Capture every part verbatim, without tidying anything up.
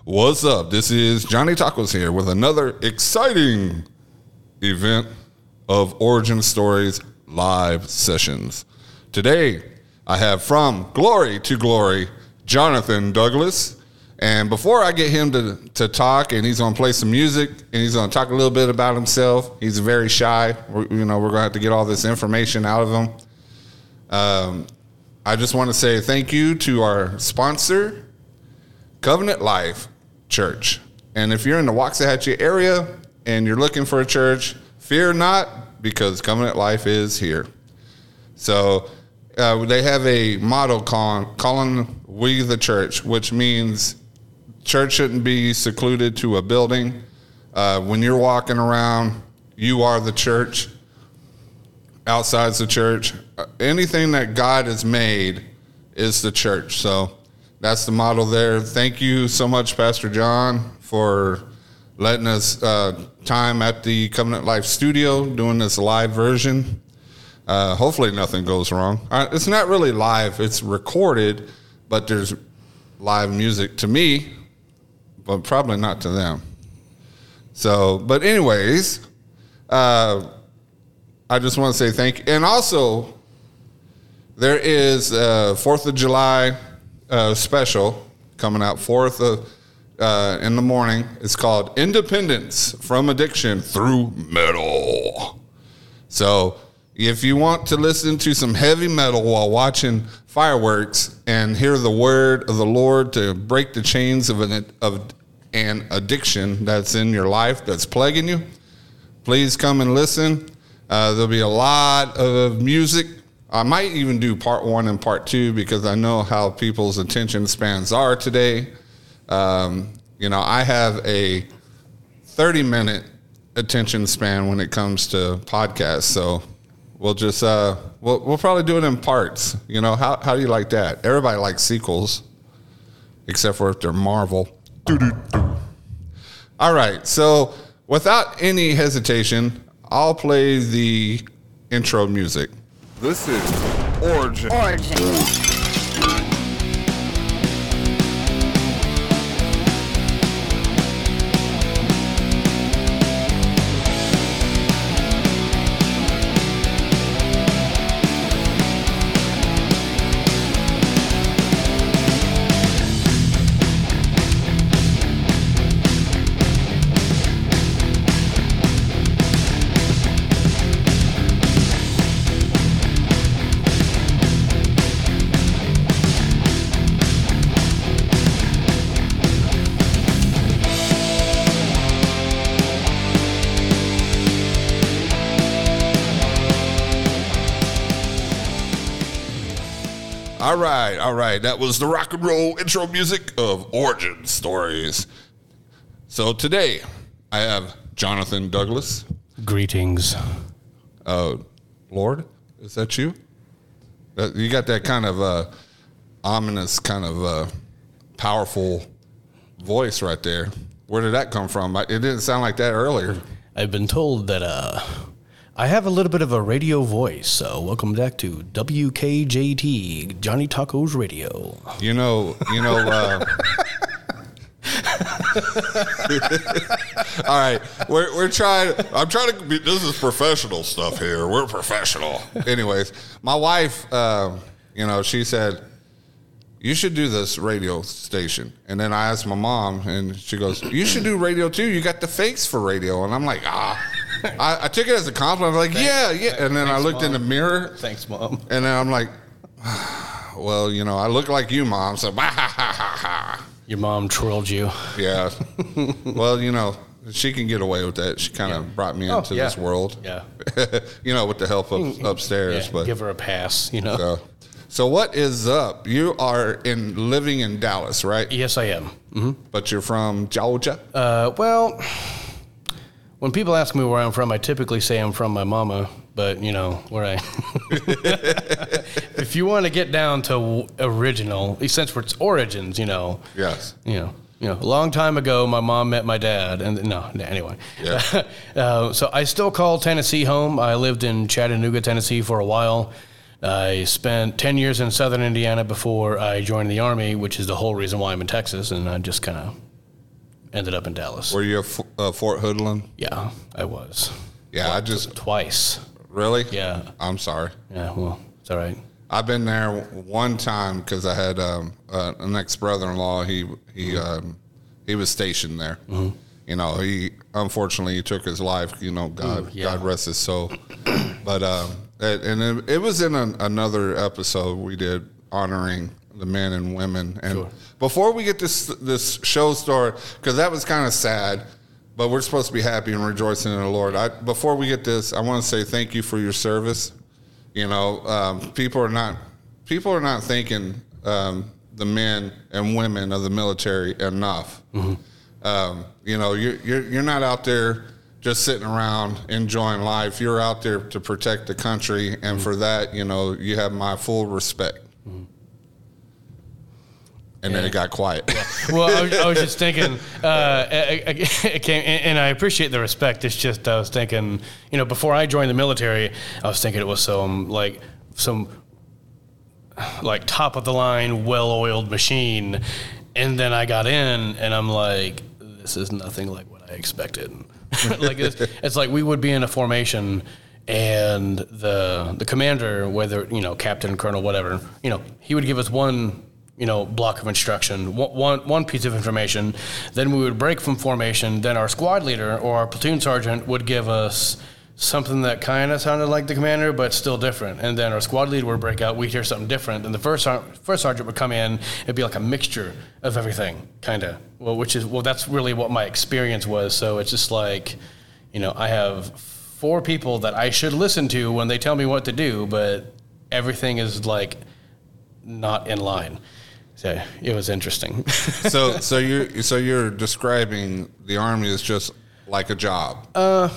What's up? This is Johnny Tacos here with another exciting event of Origin Stories live sessions. Today, I have From Glory to Glory, Jonathan Douglas. And before I get him to, to talk, and he's going to play some music, and he's going to talk a little bit about himself. He's very shy. We're, you know, we're going to have to get all this information out of him. Um, I just want to say thank you to our sponsor, Covenant Life Church. And if you're in the Waxahachie area and you're looking for a church, fear not, because Covenant Life is here. So uh, they have a motto calling, calling We the Church, which means church shouldn't be secluded to a building. Uh, when you're walking around, you are the church. Outside's the church. Uh, anything that God has made is the church. So that's the motto there. Thank you so much, Pastor John, for letting us uh, time at the Covenant Life studio, doing this live version. Uh, hopefully nothing goes wrong. Uh, it's not really live. It's recorded, but there's live music to me, but probably not to them. So, but anyways, uh, I just want to say thank you. And also, there is a fourth of July uh, special coming out, fourth of, uh, in the morning. It's called Independence from Addiction Through Metal. So if you want to listen to some heavy metal while watching fireworks and hear the word of the Lord to break the chains of an, of an addiction that's in your life, that's plaguing you, please come and listen. Uh, there'll be a lot of music. I might even do part one and part two because I know how people's attention spans are today. Um, you know, I have a thirty-minute attention span when it comes to podcasts, so we'll just uh, we'll we'll probably do it in parts. You know, how how do you like that? Everybody likes sequels, except for if they're Marvel. Doo-doo-doo. All right, so without any hesitation, I'll play the intro music. This is Origin. Origin. All right, all right. That was the rock and roll intro music of Origin Stories. So today, I have Jonathan Douglas. Greetings. Uh, Lord, is that you? Uh, you got that kind of uh, ominous, kind of uh, powerful voice right there. Where did that come from? It didn't sound like that earlier. I've been told that uh, I have a little bit of a radio voice, so welcome back to W K J T, Johnny Tacos Radio. You know, you know. Uh, all right, we're we're trying. I'm trying to be. This is professional stuff here. We're professional. Anyways, my wife, uh, you know, she said you should do this radio station, and then I asked my mom, and she goes, "You should do radio too. You got the face for radio." And I'm like, ah. I, I took it as a compliment. I'm like, thanks, yeah, yeah. And then thanks, I looked Mom. in the mirror. Thanks, Mom. And then I'm like, well, you know, I look like you, Mom. So, bah, ha, ha, ha, ha. Your mom trolled you. Yeah. Well, you know, she can get away with that. She kind of yeah. brought me oh, into yeah. this world. Yeah. You know, with the help of upstairs. Yeah, but give her a pass, you know. So, so what is up? You are in living in Dallas, right? Yes, I am. Mm-hmm. But you're from Georgia? Uh, well, when people ask me where I'm from, I typically say I'm from my mama, but, you know, where I... If you want to get down to original, since for its origins, you know... Yes. You know, you know, a long time ago, my mom met my dad, and no, anyway. Yeah. uh, so I still call Tennessee home. I lived in Chattanooga, Tennessee for a while. I spent ten years in southern Indiana before I joined the Army, which is the whole reason why I'm in Texas, and I just kind of ended up in Dallas. Were you at uh, Fort Hoodlum? Yeah, I was. Yeah, I just twice. Really? Yeah. I'm sorry. Yeah, well, it's all right. I've been there one time because I had um, uh, an ex brother-in-law. He he um, he was stationed there. Mm-hmm. You know, he unfortunately he took his life. You know, God Ooh, yeah. God rest his soul. But um, it, and it, it was in an, another episode we did honoring the men and women. And sure. Before we get this this show started, because that was kind of sad. But we're supposed to be happy and rejoicing in the Lord. I, before we get this, I want to say thank you for your service. You know, um, people are not people are not thanking um, the men and women of the military enough. Mm-hmm. Um, you know, you're, you're you're not out there just sitting around enjoying life. You're out there to protect the country, and mm-hmm. for that, you know, you have my full respect. Mm-hmm. And yeah. then it got quiet. Yeah. Well, I was, I was just thinking, uh, it came, and I appreciate the respect. It's just I was thinking, you know, before I joined the military, I was thinking it was some like some like top of the line, well-oiled machine, and then I got in, and I'm like, this is nothing like what I expected. Like it's, it's like we would be in a formation. And the the commander, whether you know captain, colonel, whatever, you know, he would give us one. you know, block of instruction, one, one piece of information. Then we would break from formation. Then our squad leader or our platoon sergeant would give us something that kind of sounded like the commander, but still different. And then our squad leader would break out. We'd hear something different. And the first first sergeant would come in. It'd be like a mixture of everything, kind of. Well, which is, well, that's really what my experience was. So it's just like, you know, I have four people that I should listen to when they tell me what to do, but everything is like not in line. So it was interesting. so so you're so you're describing the Army as just like a job. Uh,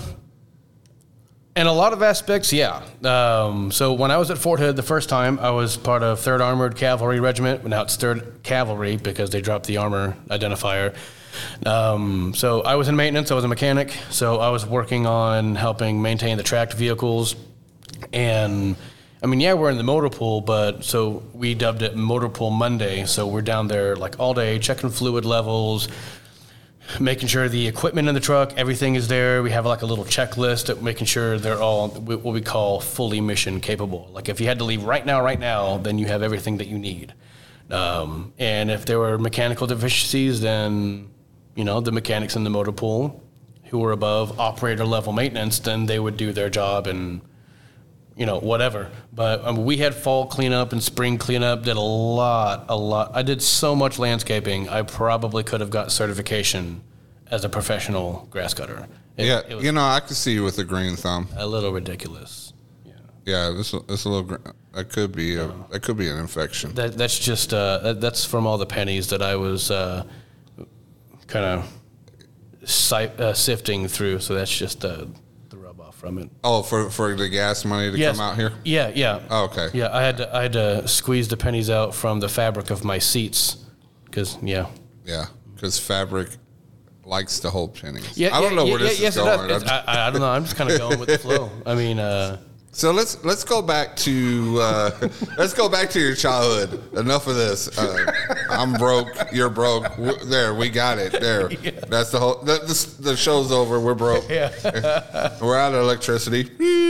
in a lot of aspects, yeah. Um, so when I was at Fort Hood the first time, I was part of third Armored Cavalry Regiment. Now it's third Cavalry because they dropped the armor identifier. Um, so I was in maintenance. I was a mechanic. So I was working on helping maintain the tracked vehicles. And I mean, yeah, we're in the motor pool, but so we dubbed it Motor Pool Monday. So we're down there like all day, checking fluid levels, making sure the equipment in the truck, everything is there. We have like a little checklist of making sure they're all what we call fully mission capable. Like if you had to leave right now, right now, then you have everything that you need. Um, and if there were mechanical deficiencies, then, you know, the mechanics in the motor pool who were above operator level maintenance, then they would do their job and, you know, whatever. But um, we had fall cleanup and spring cleanup, did a lot, a lot. I did so much landscaping, I probably could have got certification as a professional grass cutter. It, yeah, it was you know, I could see you with a green thumb. A little ridiculous. Yeah, yeah, this this a little. That could be a, that could be an infection. That that's just uh, that, that's from all the pennies that I was uh, kind of si- uh, sifting through. So that's just uh, from it. Oh, for, for the gas money to yes. come out here? Yeah, yeah. Oh, okay. Yeah, I had to I had to squeeze the pennies out from the fabric of my seats, because yeah. Yeah, because fabric likes to hold pennies. Yeah, I don't yeah, know yeah, where this yeah, is yes, going. It does. I, I don't know. I'm just kind of going with the flow. I mean, uh, so let's let's go back to uh, let's go back to your childhood. Enough of this. Uh, I'm broke. You're broke. There, we got it. There. Yeah. That's the whole. The, the, the show's over. We're broke. Yeah. We're out of electricity.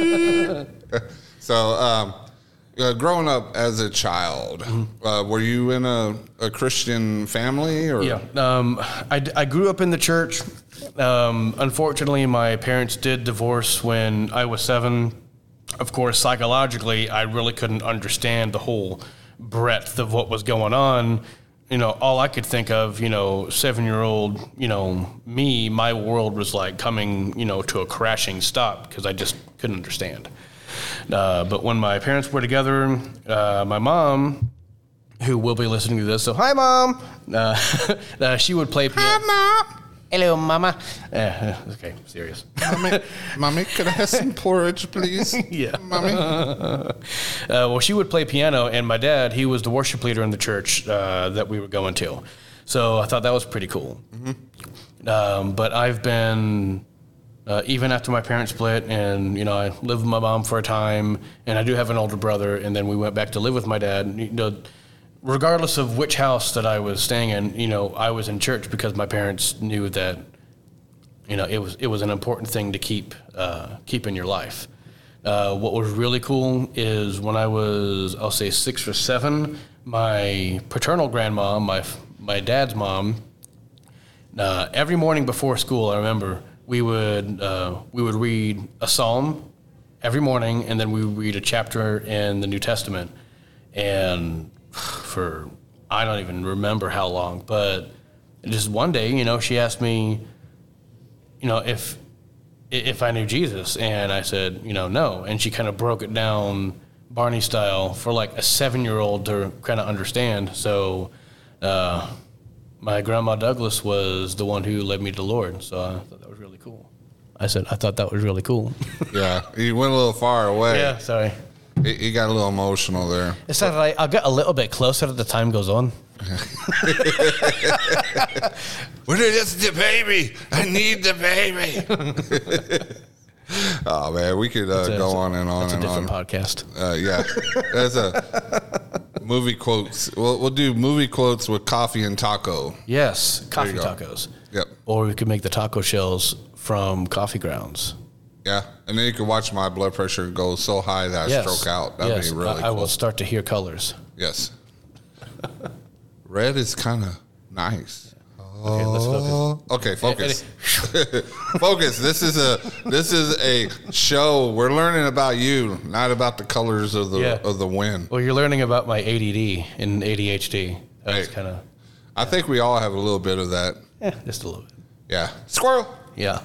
So, um, uh, growing up as a child, mm-hmm. uh, were you in a, a Christian family? Or? Yeah. Um, I, I grew up in the church. Um, unfortunately, my parents did divorce when I was seven. Of course, psychologically, I really couldn't understand the whole breadth of what was going on. You know, all I could think of, you know, seven-year-old, you know, me, my world was like coming, you know, to a crashing stop because I just couldn't understand. Uh, but when my parents were together, uh, my mom, who will be listening to this, so hi, Mom, uh, uh, she would play piano. Hi, Mom. Hello, Mama. Uh, okay, serious. Mommy, Mommy, could I have some porridge, please? Yeah. Mommy. Uh, well, she would play piano, and my dad, he was the worship leader in the church uh, that we were going to. So I thought that was pretty cool. Mm-hmm. Um, but I've been, uh, even after my parents split, and, you know, I lived with my mom for a time, and I do have an older brother, and then we went back to live with my dad. You know, regardless of which house that I was staying in, you know, I was in church because my parents knew that, you know, it was it was an important thing to keep uh, keep in your life. Uh, what was really cool is when I was, I'll say six or seven, my paternal grandma, my my dad's mom, uh, every morning before school, I remember we would uh, we would read a psalm every morning, and then we would read a chapter in the New Testament, and for I don't even remember how long, but just one day, you know, she asked me, you know, if if I knew Jesus, and I said, you know, no, and she kind of broke it down Barney style for like a seven-year-old to kind of understand. So uh, my grandma Douglas was the one who led me to the Lord, so I thought that was really cool. I said, I thought that was really cool. Yeah, you went a little far away. Yeah, sorry. You you got a little emotional there. It's not like I'll get a little bit closer as the time goes on. What is the baby? I need the baby. Oh man, we could uh, a, go on and on that's and a different on. podcast. Uh, yeah, that's a movie quotes. We'll, we'll do movie quotes with coffee and taco. Yes, coffee go. tacos. Yep. Or we could make the taco shells from coffee grounds. Yeah, and then you can watch my blood pressure go so high that I Yes. stroke out. That'd yes. be really I, cool. I will start to hear colors. Yes. Red is kind of nice. Okay, let's focus. Okay, focus. Focus. This is a this is a show. We're learning about you, not about the colors of the Yeah. of the wind. Well, you're learning about my A D D and A D H D. That's Hey. kind of, I think we all have a little bit of that. yeah, just a little bit. Yeah. Squirrel. Yeah.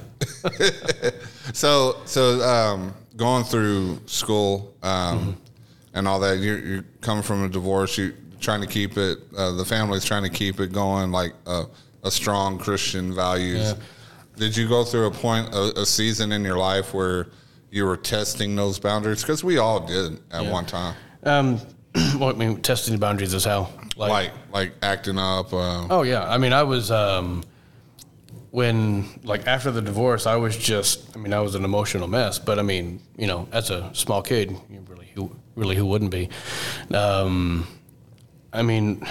So so um, going through school um, Mm-hmm. and all that, you're, you're coming from a divorce. You're trying to keep it. Uh, the family's trying to keep it going, like a, a strong Christian values. Yeah. Did you go through a point, a, a season in your life where you were testing those boundaries? Because we all did at Yeah. one time. Um, well, I mean, testing the boundaries is how. Like like acting up. Uh, Oh yeah, I mean, I was um, when like after the divorce, I was just, I mean, I was an emotional mess. But I mean, you know, as a small kid, you really, who really, who wouldn't be? Um, I mean,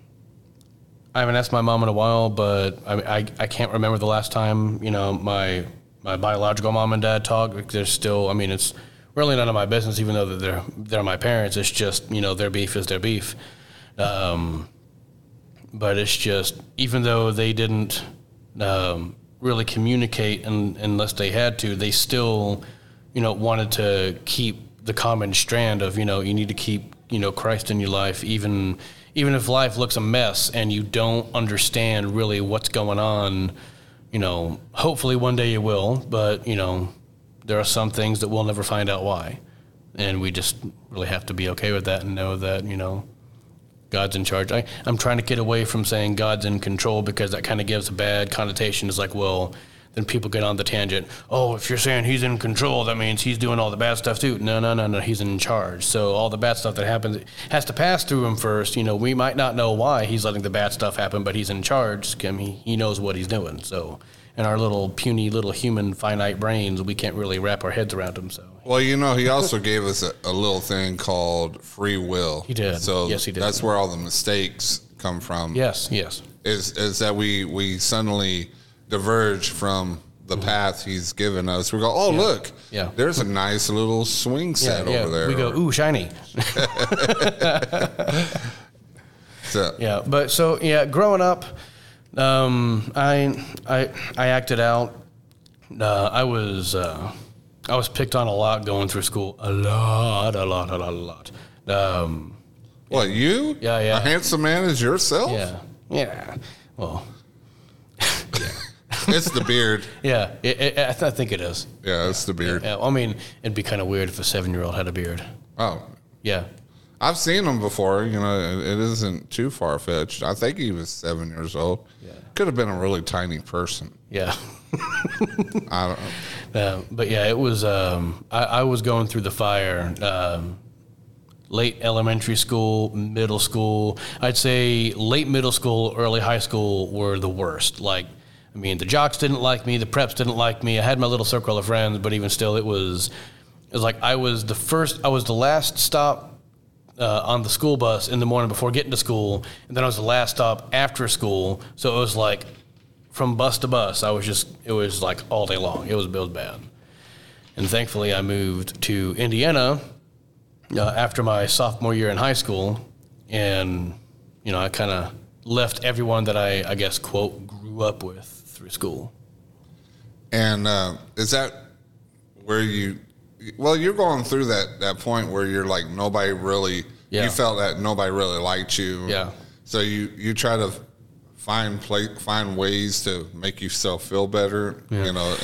I haven't asked my mom in a while, but I, I I can't remember the last time, you know, my my biological mom and dad talked. Like, there's still, I mean, it's really none of my business, even though they're they're my parents. It's just, you know, their beef is their beef. Um, but it's just, even though they didn't um, really communicate un, unless they had to, they still, you know, wanted to keep the common strand of, you know, you need to keep, you know, Christ in your life, even even if life looks a mess and you don't understand really what's going on. You know, hopefully one day you will, but, you know, there are some things that we'll never find out why. And we just really have to be okay with that and know that, you know, God's in charge. I, I'm trying to get away from saying God's in control, because that kind of gives a bad connotation. It's like, well, then people get on the tangent. Oh, if you're saying he's in control, that means he's doing all the bad stuff too. No, no, no, no. He's in charge. So all the bad stuff that happens has to pass through him first. You know, we might not know why he's letting the bad stuff happen, but he's in charge. I mean, he knows what he's doing. So in our little puny little human finite brains, we can't really wrap our heads around him. So Well, you know, he also gave us a, a little thing called free will. He did. So Yes, he did. that's where all the mistakes come from. yes, yes. Is is that we we suddenly diverge from the path he's given us. We go, oh, look, Yeah. there's a nice little swing set over there. We go, ooh, shiny. So, Yeah, but so yeah, growing up, um, I I I acted out. Uh, I was uh, I was picked on a lot going through school. A lot, a lot, a lot, a lot. Um, what, you? Yeah, yeah. A handsome man is yourself? yeah, yeah. Well, It's the beard. yeah. It, it, I, th- I think it is. Yeah, it's the beard. Yeah, I mean, it'd be kind of weird if a seven-year-old had a beard. Oh, Yeah. I've seen him before. You know, it, it isn't too far-fetched. I think he was seven years old. Yeah. Could have been a really tiny person. Yeah. I don't know. Um, but yeah, it was. Um, I, I was going through the fire. Um, late elementary school, middle school. I'd say late middle school, early high school were the worst. Like, I mean, the jocks didn't like me, the preps didn't like me. I had my little circle of friends, but even still, it was. It was like I was the first. I was the last stop uh, on the school bus in the morning before getting to school, and then I was the last stop after school. So it was like from bus to bus. I was just it was like all day long. It was, it was bad. And thankfully, I moved to Indiana uh, after my sophomore year in high school, and you know I kind of left everyone that I I guess quote grew up with through school. And uh, is that where you? Well, you're going through that, that point where you're like nobody really. Yeah. You felt that nobody really liked you. Yeah. So you, you try to find play, find ways to make yourself feel better. Yeah. You know,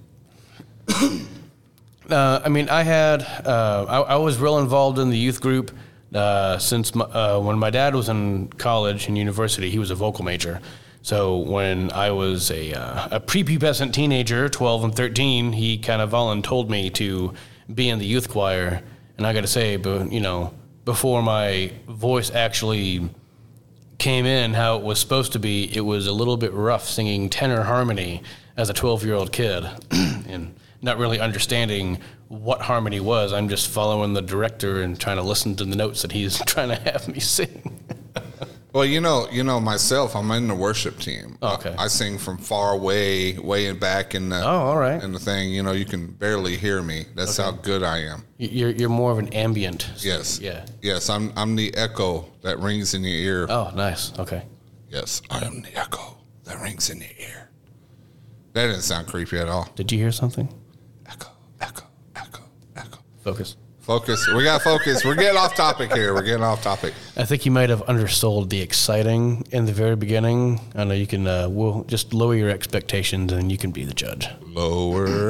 and uh, I mean, I had uh, I, I was real involved in the youth group uh, since my, uh, when my dad was in college and university. He was a vocal major. So when I was a uh, a prepubescent teenager, twelve and thirteen, he kind of voluntold me to be in the youth choir. And I got to say, but you know, before my voice actually came in how it was supposed to be, it was a little bit rough singing tenor harmony as a twelve-year-old kid, and not really understanding what harmony was. I'm just following the director and trying to listen to the notes that he's trying to have me sing. Well, you know, you know myself. I'm in the worship team. Oh, okay. I, I sing from far away, way in back in the. Oh, all right. In the thing, you know, you can barely hear me. That's okay. How good I am. You're you're more of an ambient. Yes. Yeah. Yes, I'm I'm the echo that rings in your ear. Oh, nice. Okay. Yes, I am the echo that rings in your ear. That didn't sound creepy at all. Did you hear something? Echo, echo, echo, echo. Focus. Focus. We got focus. We're getting off topic here. We're getting off topic. I think you might have undersold the exciting in the very beginning. I know you can. Uh, we'll just lower your expectations, and you can be the judge. Lower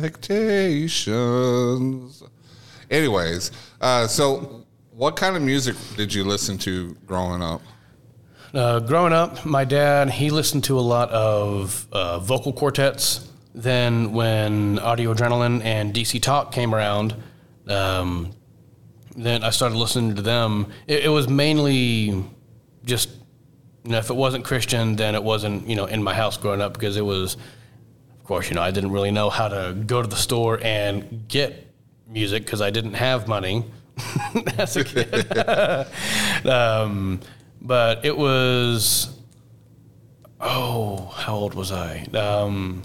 expectations. Anyways, uh, so what kind of music did you listen to growing up? Uh, growing up, my dad he listened to a lot of uh, vocal quartets. Then, when Audio Adrenaline and D C Talk came around. Um, then I started listening to them. It, it was mainly just, you know, if it wasn't Christian, then it wasn't, you know, in my house growing up because it was, of course, you know, I didn't really know how to go to the store and get music because I didn't have money as a kid. um, but it was, oh, how old was I? Um,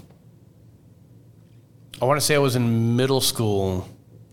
I want to say I was in middle school.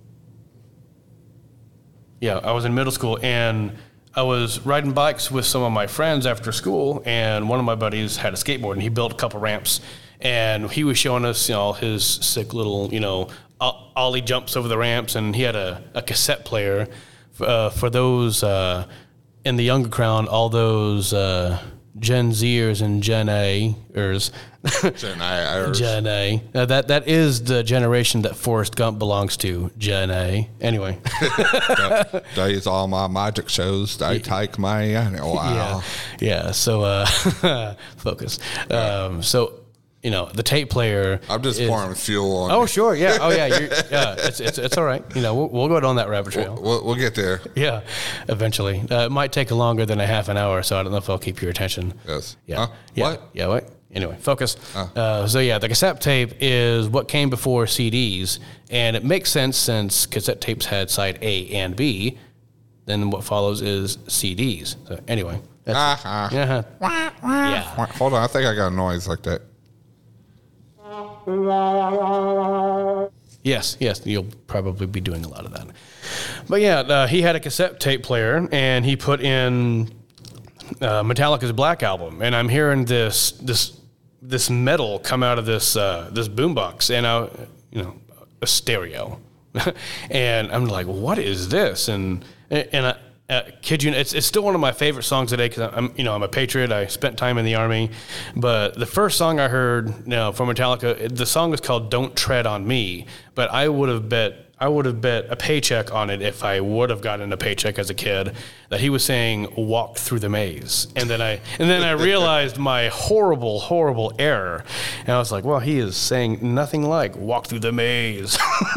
Yeah, I was in middle school, and I was riding bikes with some of my friends after school, and one of my buddies had a skateboard, and he built a couple ramps, and he was showing us, you know, all his sick little, you know, ollie jumps over the ramps, and he had a, a cassette player. Uh, for those uh, in the younger crowd, all those uh, Gen Zers and Gen A-ers. Gen A-ers. Gen A. Uh, that, that is the generation that Forrest Gump belongs to, Gen A. Anyway. These all my magic shows. They take me in a while. Yeah, yeah. So, uh, focus. Um, so, you know, the tape player. I'm just is, pouring fuel on. Oh, sure. Yeah. Oh, yeah. You're, yeah. It's, it's it's all right. You know, we'll, we'll go down that rabbit trail. We'll, we'll, we'll get there. Yeah. Eventually. Uh, it might take longer than a half an hour, so I don't know if I'll keep your attention. Yes. Yeah. Huh? Yeah. What? Yeah. What? Anyway, focus. Uh. Uh, so, yeah, the cassette tape is what came before C Ds, and it makes sense since cassette tapes had side A and B. Then what follows is C Ds. So, anyway. That's uh-huh. Yeah. Yeah. Hold on. I think I got a noise like that. Yes, yes, you'll probably be doing a lot of that. But yeah, uh, he had a cassette tape player, and he put in uh, Metallica's Black Album, and I'm hearing this this this metal come out of this uh, this boombox, and I, you know, a stereo, and I'm like, what is this? And and I. Uh, kid you, it's it's still one of my favorite songs today because I'm you know I'm a patriot. I spent time in the Army, but the first song I heard you know, from Metallica, the song is called "Don't Tread on Me." But I would have bet I would have bet a paycheck on it if I would have gotten a paycheck as a kid that he was saying "Walk through the maze," and then I and then I realized my horrible horrible error, and I was like, well, he is saying nothing like "Walk through the maze."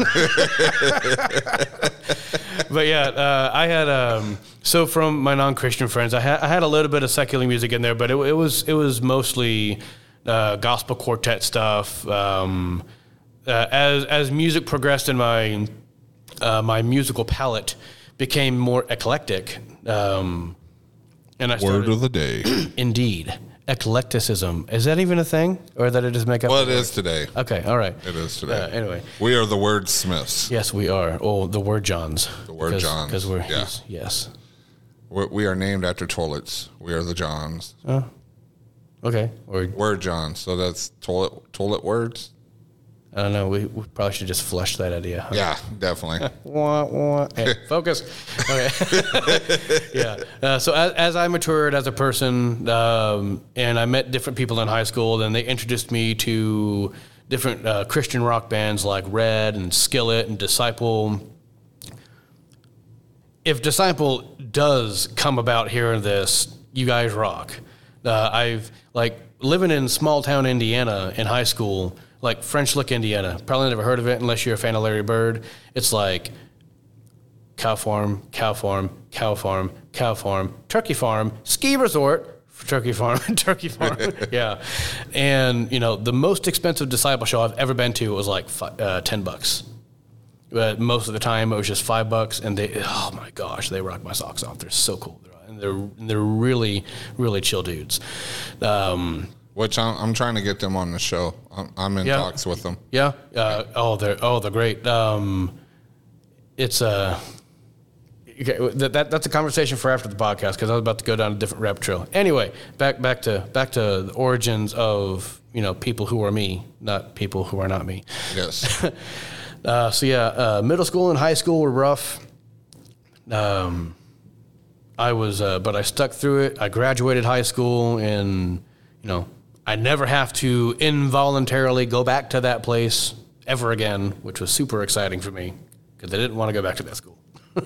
But yeah, uh, I had um, so from my non-Christian friends, I had I had a little bit of secular music in there, but it, it was it was mostly uh, gospel quartet stuff. Um, uh, as as music progressed in my uh, my musical palette, became more eclectic. Um, and I started, Word of the day. Indeed. Eclecticism. Is that even a thing? Or did I just make up? Well, it is today. Okay, all right. It is today. Uh, anyway. We are the wordsmiths. Yes, we are. Oh, the word Johns. The word Johns. Because we're, yeah. yes. We're, we are named after toilets. We are the Johns. Oh, okay. Or, Word Johns. So that's toilet toilet words? I don't know. We, we probably should just flush that idea. Huh? Yeah, definitely. Wah, wah. Hey, focus. Okay. yeah. Uh, so as, as I matured as a person, um, and I met different people in high school, then they introduced me to different uh, Christian rock bands like Red and Skillet and Disciple. If Disciple does come about hearing this, you guys rock. Uh, I've like living in small town Indiana in high school. Like French Lick, Indiana. Probably never heard of it unless you're a fan of Larry Bird. It's like cow farm, cow farm, cow farm, cow farm, turkey farm, ski resort, turkey farm, turkey farm. Yeah. And, you know, the most expensive Disciple show I've ever been to was like five, uh, ten bucks. But most of the time it was just five bucks. And they, oh my gosh, they rock my socks off. They're so cool. And they're, they're really, really chill dudes. Um, Which I'm, I'm trying to get them on the show. I'm, I'm in Yeah. talks with them. Yeah. Uh, oh, they're oh they're great. Um, it's a okay, that, that that's a conversation for after the podcast because I was about to go down a different rabbit trail. Anyway, back back to back to the origins of you know people who are me, not people who are not me. Yes. uh, so yeah, uh, middle school and high school were rough. Um, I was, uh, but I stuck through it. I graduated high school and you know. I never have to involuntarily go back to that place ever again, which was super exciting for me because I didn't want to go back to that school.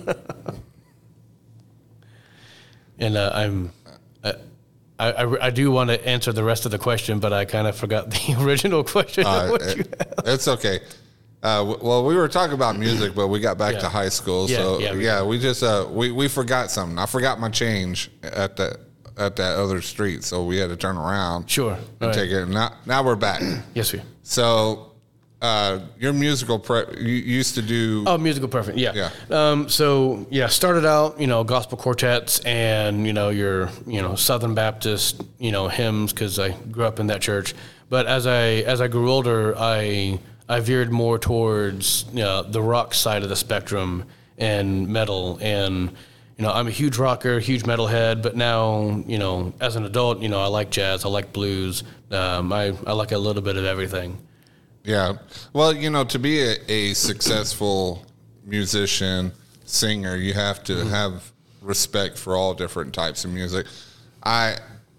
and uh, I'm, I, I, I do want to answer the rest of the question, but I kind of forgot the original question. Uh, what it, you asked. it's okay. Uh, w- well, we were talking about music, but we got back Yeah. to high school. Yeah, so yeah, yeah, we we, just uh, we we forgot something. I forgot my change at that at that other street, so we had to turn around. Sure. And All right. take it. Now now we're back. Yes, we. So uh, your musical prep, you used to do. Oh, musical perfect. Yeah. Yeah. Um, so yeah, started out, you know, gospel quartets and, you know, your, you know, Southern Baptist, you know, hymns cause I grew up in that church. But as I, as I grew older, I, I veered more towards, you know, the rock side of the spectrum and metal. And, you know, I'm a huge rocker, huge metalhead, but now, you know, as an adult, you know, I like jazz, I like blues. Um, I, I like a little bit of everything. Yeah. Well, you know, to be a, a successful musician, singer, you have to Mm-hmm. have respect for all different types of music. I,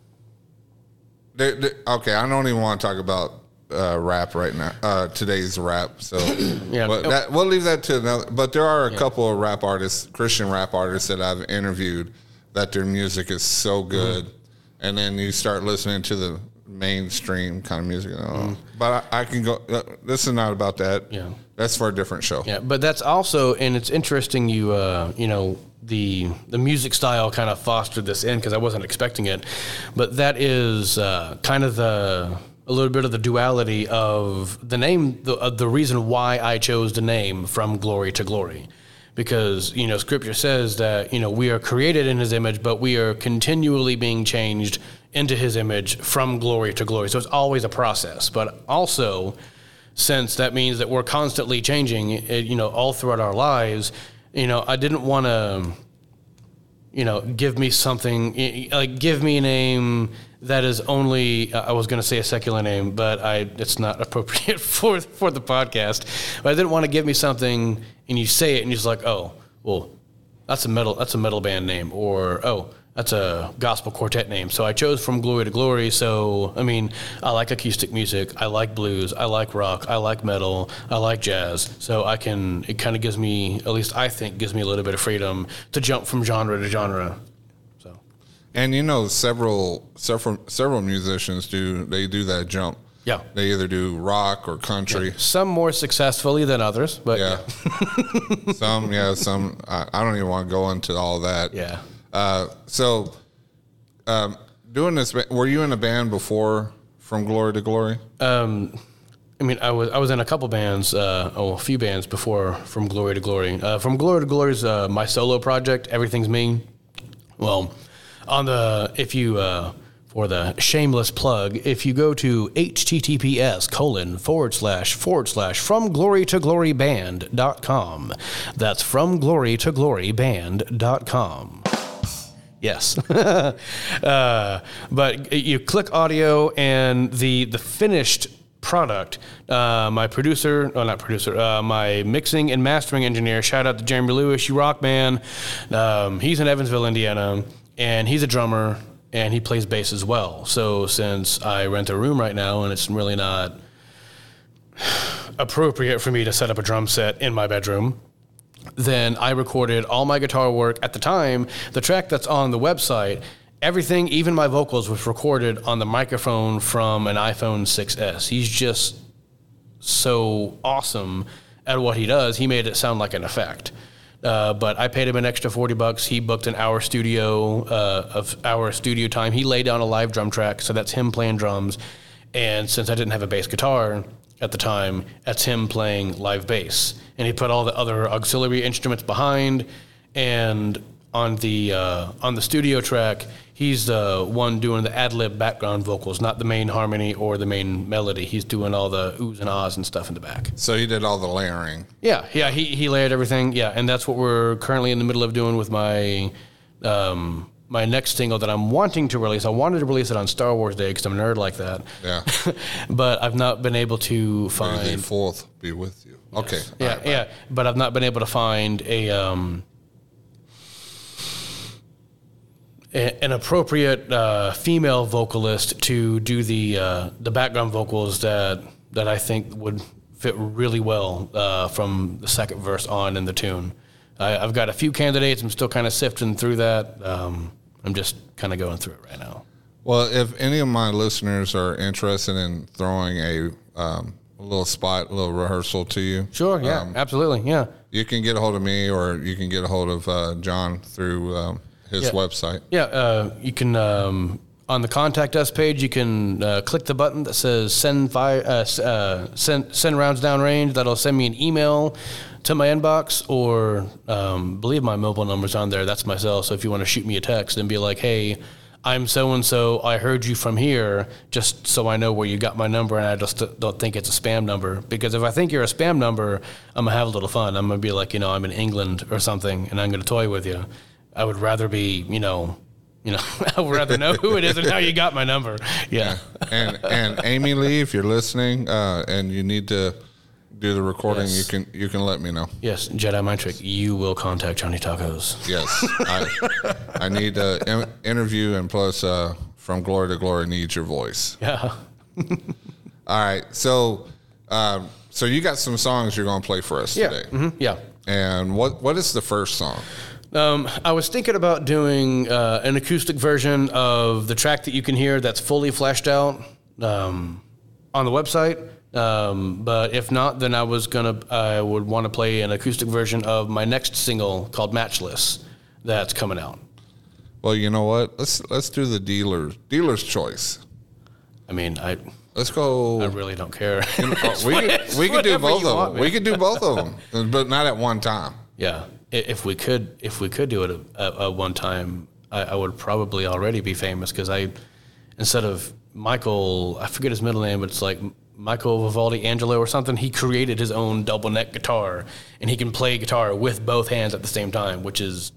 they, they, okay, I don't even want to talk about uh, rap right now, uh, today's rap. So, Yeah. but that, we'll leave that to another. But there are a couple of rap artists, Christian rap artists that I've interviewed that their music is so good. Mm-hmm. And then you start listening to the mainstream kind of music. Oh, Mm-hmm. But I, I can go, uh, this is not about that. Yeah. That's for a different show. Yeah, but that's also, and it's interesting. You, uh, you know, the the music style kind of fostered this in because I wasn't expecting it, but that is uh, kind of the a little bit of the duality of the name, the uh, the reason why I chose the name From Glory to Glory, because you know Scripture says that you know we are created in His image, but we are continually being changed into His image from glory to glory. So it's always a process, but also, since that means that we're constantly changing, it, you know, all throughout our lives, you know, I didn't want to, you know, give me something, like give me a name that is only, I was going to say a secular name, but I, it's not appropriate for, for the podcast. But I didn't want to give me something and you say it and you're just like, oh, well, that's a metal, that's a metal band name, or, oh, that's a gospel quartet name. So I chose From Glory to Glory. So, I mean, I like acoustic music. I like blues. I like rock. I like metal. I like jazz. So I can, it kind of gives me, at least I think, gives me a little bit of freedom to jump from genre to genre. So, And you know, several several several musicians do they do that jump. yeah. They either do rock or country. Some more successfully than others, but Yeah. some, yeah, some. I, I don't even want to go into all that. yeah. Uh, so, um, doing this, ba- were you in a band before From Glory to Glory? Um, I mean, I was I was in a couple bands, uh, oh, a few bands before From Glory to Glory. Uh, From Glory to Glory is uh, my solo project. Everything's Me. Well, on the if you uh, for the shameless plug, if you go to https colon forward slash forward slash from glory to glory band dot com. That's from glory to glory band dot com. Yes. uh, but you click audio and the the finished product. Uh, my producer, oh not producer, uh, my mixing and mastering engineer, shout out to Jeremy Lewis, you rock, man. Um, he's in Evansville, Indiana, and he's a drummer, and he plays bass as well. So since I rent a room right now, and it's really not appropriate for me to set up a drum set in my bedroom, then I recorded all my guitar work. At the time, the track that's on the website, everything, even my vocals, was recorded on the microphone from an iPhone six S. He's just so awesome at what he does. He made it sound like an effect. Uh, but I paid him an extra forty bucks. He booked an hour studio uh, of hour studio time. He laid down a live drum track, so that's him playing drums. And since I didn't have a bass guitar at the time, that's him playing live bass. And he put all the other auxiliary instruments behind. And on the uh, on the studio track, he's the one doing the ad-lib background vocals, not the main harmony or the main melody. He's doing all the oohs and ahs and stuff in the back. So he did all the layering. Yeah, yeah, he, he layered everything. Yeah, and that's what we're currently in the middle of doing with my um, my next single that I'm wanting to release. I wanted to release it on Star Wars Day because I'm a nerd like that. Yeah. But I've not been able to find... May the fourth be with you. Yes. Okay. Yeah, right, yeah, but I've not been able to find a... Um, an appropriate uh, female vocalist to do the uh, the background vocals that that I think would fit really well uh, from the second verse on in the tune. I, I've got a few candidates. I'm still kind of sifting through that. Um, I'm just kind of going through it right now. Well, if any of my listeners are interested in throwing a, um, a little spot, a little rehearsal to you. Sure, yeah, um, absolutely, yeah. You can get a hold of me or you can get a hold of uh, John through... Um, his yeah. website. Yeah, uh, you can, um, on the Contact Us page, you can uh, click the button that says send fire, uh, uh, send, send rounds downrange. That'll send me an email to my inbox, or um, believe my mobile number's on there. That's my cell. So if you want to shoot me a text and be like, hey, I'm so-and-so, I heard you from here, just so I know where you got my number and I just don't think it's a spam number. Because if I think you're a spam number, I'm going to have a little fun. I'm going to be like, you know, I'm in England or something, and I'm going to toy with you. I would rather be, you know, you know, I would rather know who it is and how you got my number. Yeah. yeah. And and Amy Lee, if you're listening, uh, and you need to do the recording, yes. you can you can let me know. Yes, Jedi Mind Trick, you will contact Johnny Tacos. Yes, I I need an interview, and plus, uh, From Glory to Glory needs your voice. Yeah. All right, so um, so you got some songs you're going to play for us yeah. today. Mm-hmm. Yeah. And what what is the first song? Um, I was thinking about doing uh, an acoustic version of the track that you can hear that's fully fleshed out um, on the website. Um, but if not, then I was gonna I would want to play an acoustic version of my next single called Matchless that's coming out. Well, you know what? Let's let's do the dealer's dealer's choice. I mean, I let's go. I really don't care. You know, we could we could do both of them. We could do both of them, but not at one time. Yeah. If we could, if we could do it at, at one time, I, I would probably already be famous because I, instead of Michael, I forget his middle name, but it's like Michael Vivaldi Angelo or something. He created his own double neck guitar, and he can play guitar with both hands at the same time, which is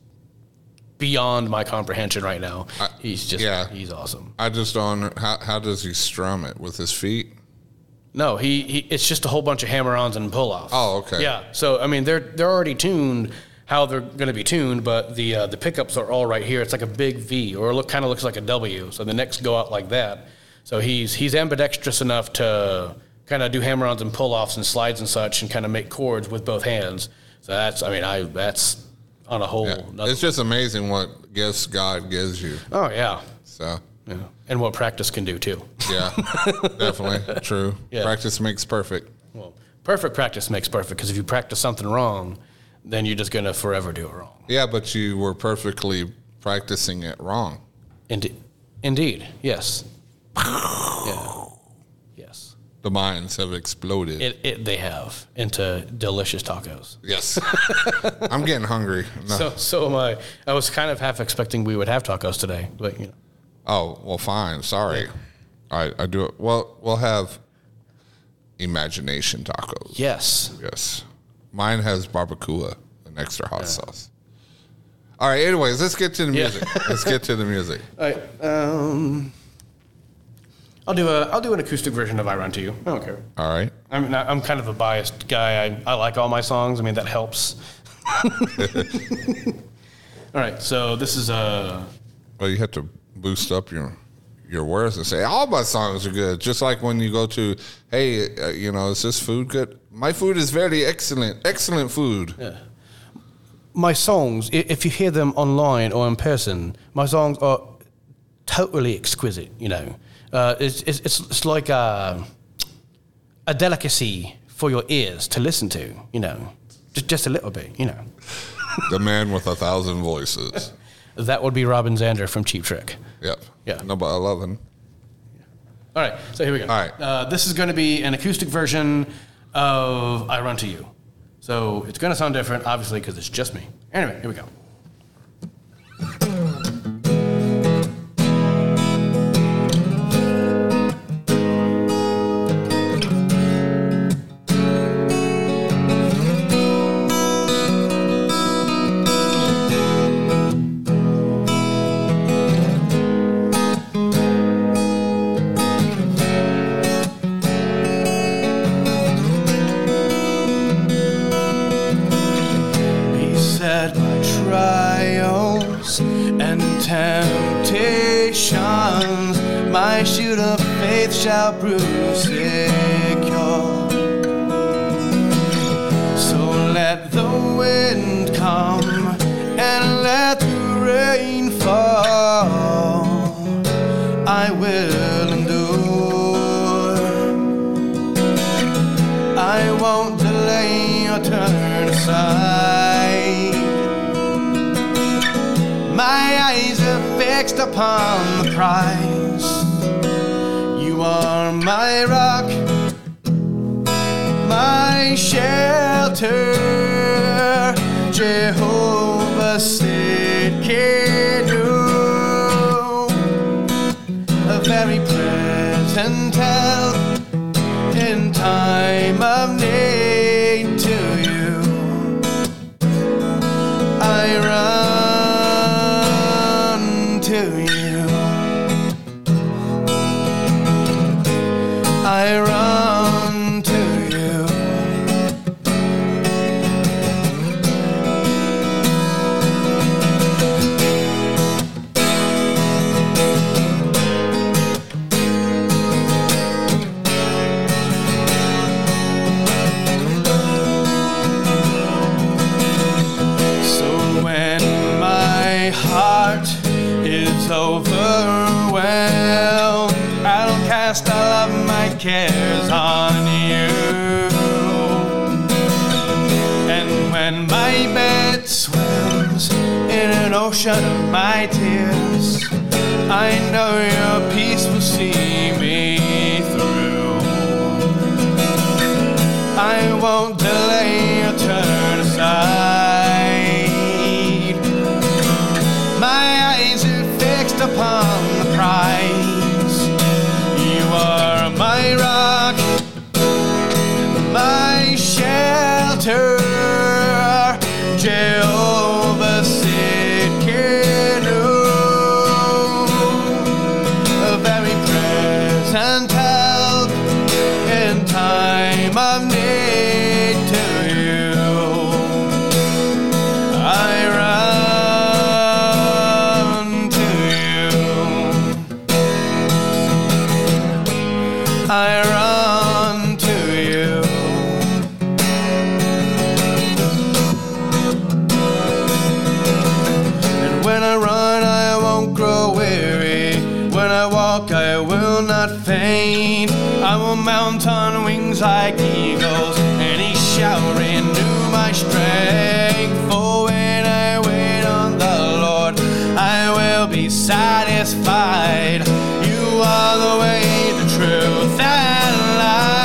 beyond my comprehension right now. I, he's just, yeah, he's awesome. I just don't. How how does he strum it with his feet? No, he, he it's just a whole bunch of hammer-ons and pull-offs. Oh, okay. Yeah. So I mean, they're they're already tuned how they're going to be tuned, but the uh, the pickups are all right here. It's like a big V, or it look kind of looks like a W. So the necks go out like that. So he's he's ambidextrous enough to kind of do hammer-ons and pull-offs and slides and such, and kind of make chords with both hands. So that's I mean I that's on a whole. Yeah. It's just amazing what gifts God gives you. Oh yeah. So. Yeah. And what practice can do too. Yeah, definitely true. Yeah. Practice makes perfect. Well, perfect practice makes perfect because if you practice something wrong, then you're just going to forever do it wrong. Yeah, but you were perfectly practicing it wrong. Indeed. Indeed. Yes. Yeah. Yes. The minds have exploded. It, it they have into delicious tacos. Yes. I'm getting hungry. No. So so am I. I was kind of half expecting we would have tacos today, but you know. Oh, well, fine. Sorry. I, I do it. Well, we'll have imagination tacos. Yes. Yes. Mine has barbacoa and extra hot yeah. sauce. All right. Anyways, let's get to the music. Yeah. Let's get to the music. All right. Um, I'll do a I'll do an acoustic version of "I Run to You." I don't care. All right. I'm not, I'm kind of a biased guy. I I like all my songs. I mean that helps. All right. So this is a. Well, you have to boost up your. your words and say all my songs are good, just like when you go to, hey, uh, you know, is this food good? My food is very excellent, excellent food. Yeah. My songs, if you hear them online or in person, my songs are totally exquisite. You know, uh, it's, it's it's like a a delicacy for your ears to listen to. You know, just just a little bit. You know, the man with a thousand voices. That would be Robin Zander from Cheap Trick. Yep. Yeah. Number eleven. All right. So here we go. All right. Uh, this is going to be an acoustic version of "I Run to You." So it's going to sound different, obviously, because it's just me. Anyway, here we go. Temptations, my shield of faith shall prove secure. So let the wind come and let the rain fall. I will endure. I won't delay or turn aside. My eyes are fixed upon the prize. You are my rock, my shelter, Jehovah Sidkenu, a very present help in time of need. To you I run. To you I run to you. So when my heart is overwhelmed, I'll cast all of my cares on you. And when my bed swims in an ocean of my tears, I know your peace will see me through. I won't delay or turn aside. My eyes are fixed upon the prize. You are my rock, my shelter, Jehovah Sidkenu, a very present help in time of need. To you I run. I run to you. And when I run, I won't grow weary. When I walk, I will not faint. I will mount on wings like eagles, and he shall renew my strength. For when I wait on the Lord, I will be satisfied. You are the way, the truth, and life.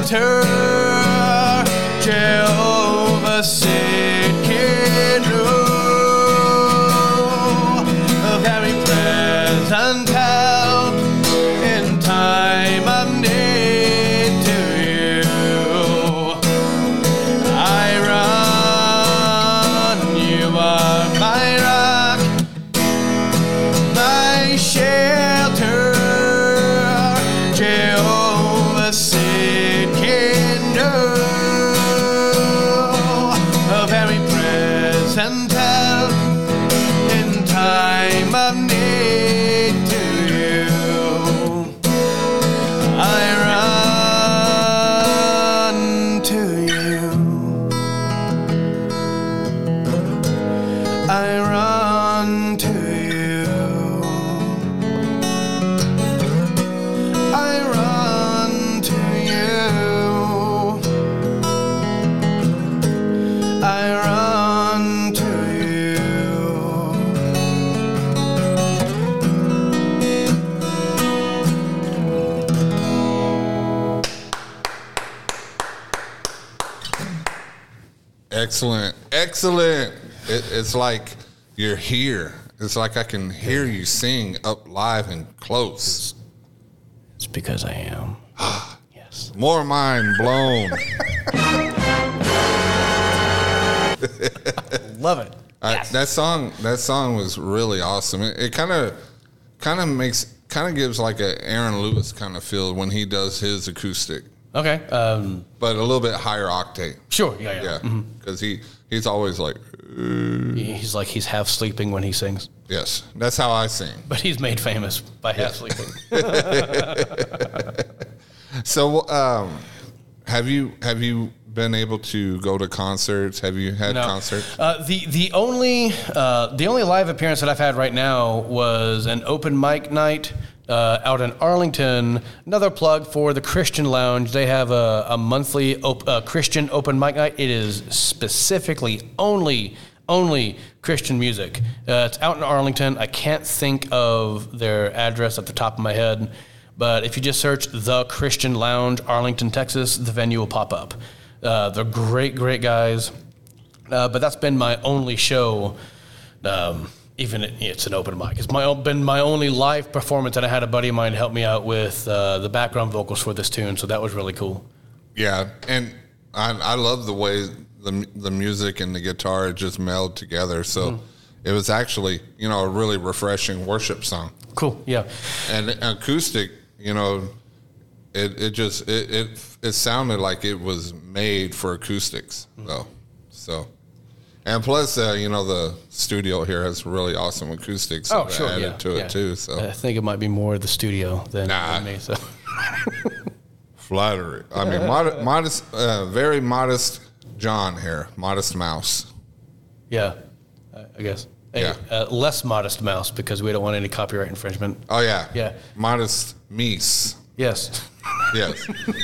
shelter, Jehovah Sidkenu, a very present help in time of need to you. I run, you are my rock, my shelter, Jehovah Sidkenu, a very present help in time of need to you. I run to you. I run to you. I run to you. I run to you. Excellent. Excellent. It, it's like you're here. It's like I can hear you sing up live and close. It's because I am. Yes. More mind blown. Love it. I, Yes. that song, that song was really awesome. It kind of, kind of makes, kind of gives like a Aaron Lewis kind of feel when he does his acoustic, Okay. Um, but a little bit higher octave. sure. Yeah. Yeah. Yeah, because he he's always like, He's like he's half sleeping when he sings, yes, that's how I sing. but he's made famous by half sleeping. So, um, have you have you been able to go to concerts? Have you had No. concerts? Uh, the the only uh, the only live appearance that I've had right now was an open mic night uh, out in Arlington. Another plug for the Christian Lounge. They have a, a monthly op- uh, Christian open mic night. It is specifically only only Christian music. Uh, it's out in Arlington. I can't think of their address at the top of my head, but if you just search the Christian Lounge, Arlington, Texas, the venue will pop up. Uh, they're great, great guys. Uh, but that's been my only show. Um, even it, it's an open mic. It's my been my only live performance, and I had a buddy of mine help me out with uh, the background vocals for this tune. So that was really cool. Yeah, and I I love the way the the music and the guitar just meld together. So Mm-hmm. it was actually, you know, a really refreshing worship song. Cool. Yeah. And acoustic, you know, it it just it it, it sounded like it was made for acoustics though. So, and plus, uh, you know, the studio here has really awesome acoustics. Oh, that sure. added Yeah. to yeah. it too. So I think it might be more the studio than, Nah. than me. So flattery. I mean, mod- modest, uh, very modest John here, modest mouse. yeah, I I guess. Hey, Yeah. uh, less modest mouse because we don't want any copyright infringement. Oh yeah, Yeah. modest Mies. Yes, Yes.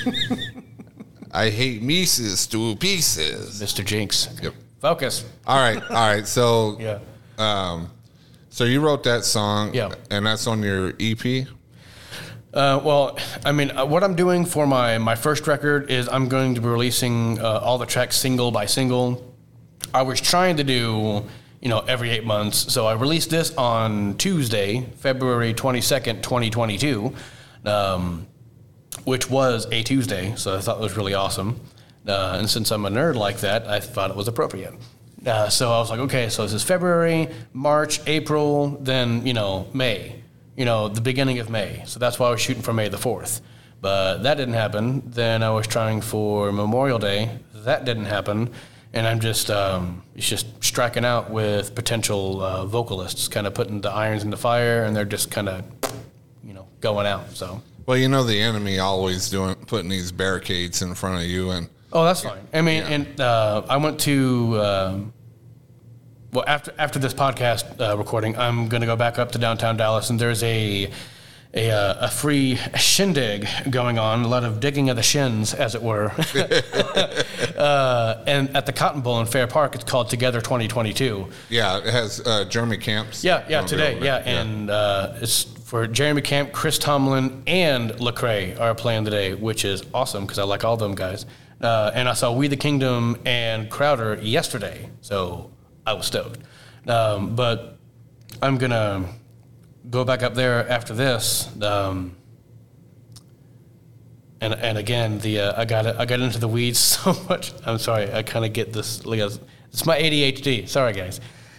I hate Mises to pieces. Mister Jinx. Yep. Focus. All right, all right. So, Yeah. um, so you wrote that song, Yeah. and that's on your E P. Uh, well, I mean, uh, what I'm doing for my, my first record is I'm going to be releasing uh, all the tracks single by single. I was trying to do, you know, every eight months. So I released this on Tuesday, February twenty-second, twenty twenty-two, um, which was a Tuesday. So I thought it was really awesome. Uh, and since I'm a nerd like that, I thought it was appropriate. Uh, so I was like, okay, so this is February, March, April, then, you know, May. You know, the beginning of May. So that's why I was shooting for May the fourth. But that didn't happen. Then I was trying for Memorial Day. That didn't happen. And I'm just, um, it's just striking out with potential uh, vocalists, kind of putting the irons in the fire, and they're just kind of, you know, going out. So. Well, you know, the enemy always doing putting these barricades in front of you, and Oh, that's fine. I mean, Yeah. and uh, I went to. Um, Well, after after this podcast uh, recording, I'm going to go back up to downtown Dallas, and there's a a, uh, a free shindig going on, a lot of digging of the shins, as it were. uh, and at the Cotton Bowl in Fair Park, it's called Together twenty twenty-two. yeah, it has uh, Jeremy Camps. Yeah, yeah, gonna be today, over yeah, there. and uh, it's for Jeremy Camp, Chris Tomlin, and Lecrae are playing today, which is awesome because I like all them guys. Uh, and I saw We the Kingdom and Crowder yesterday, so I was stoked. Um, but I'm gonna go back up there after this. Um, And and again, the uh, I got I got into the weeds so much. I'm sorry. I kind of get this. It's my A D H D. Sorry, guys.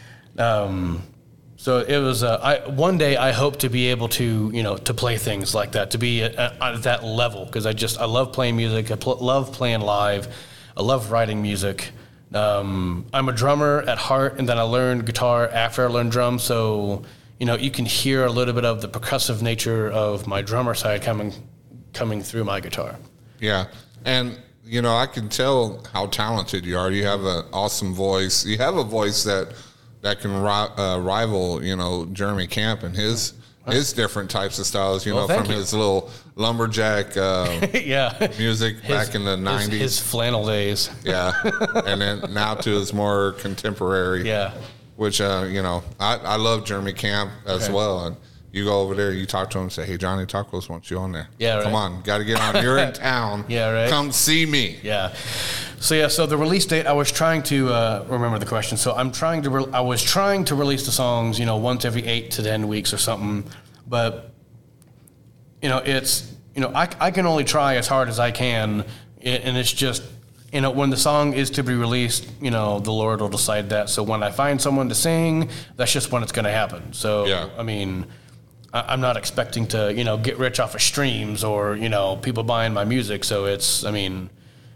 Um, so it was. Uh, I one day I hope to be able to you know to play things like that, to be at, at that level, because I just I love playing music. I pl- love playing live. I love writing music. Um, I'm a drummer at heart, and then I learned guitar after I learned drums. So you know you can hear a little bit of the percussive nature of my drummer side coming. coming through my guitar. Yeah. And, you know, I can tell how talented you are. You have an awesome voice. You have a voice that that can ri- uh, rival, you know, Jeremy Camp and his his different types of styles, you well, know, from you. his little lumberjack uh, yeah. music his, back in the nineties. His, his flannel days. Yeah. And then now to his more contemporary. Yeah. Which, uh, you know, I, I love Jeremy Camp as okay. well. And you go over there, you talk to him and say, hey, Johnny Tacos wants you on there. Yeah, right. Come on, got to get on. You're in town. Yeah, right. Come see me. Yeah. So, yeah, so the release date, I was trying to uh, remember the question. So I'm trying to, re- I was trying to release the songs, you know, once every eight to ten weeks or something. But, you know, it's, you know, I, I can only try as hard as I can. And it's just, you know, when the song is to be released, you know, the Lord will decide that. So when I find someone to sing, that's just when it's going to happen. So, yeah. I mean, I'm not expecting to, you know, get rich off of streams or, you know, people buying my music. So it's, I mean,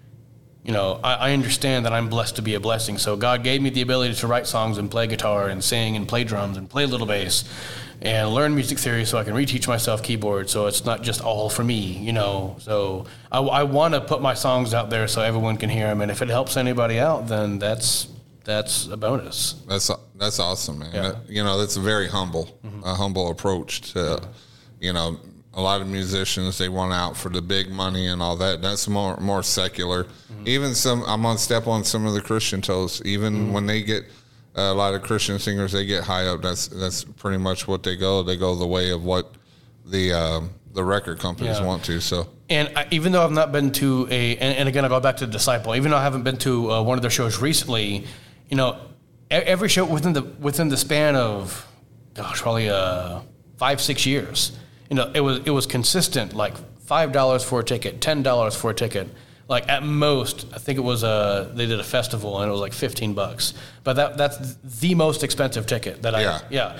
you know, I, I understand that I'm blessed to be a blessing. So God gave me the ability to write songs and play guitar and sing and play drums and play little bass and learn music theory so I can reteach myself keyboard. So it's not just all for me, you know. So I, I want to put my songs out there so everyone can hear them. And if it helps anybody out, then that's that's a bonus. That's that's awesome, man. Yeah. That, you know, that's a very humble, Mm-hmm. a humble approach to, Yeah. you know, a lot of musicians, they want out for the big money and all that. That's more more secular. Mm-hmm. Even some, I'm on step on some of the Christian toes. Even mm-hmm. when they get uh, a lot of Christian singers, they get high up. That's that's pretty much what they go. They go the way of what the um, the record companies Yeah. want to. So. And I, even though I've not been to a, and, and again I go back to the Disciple. Even though I haven't been to uh, one of their shows recently, you know, every show within the within the span of, gosh, probably uh, five six years, you know, it was it was consistent, like five dollars for a ticket, ten dollars for a ticket. Like at most, I think it was a they did a festival and it was like fifteen bucks. But that that's the most expensive ticket that I yeah yeah,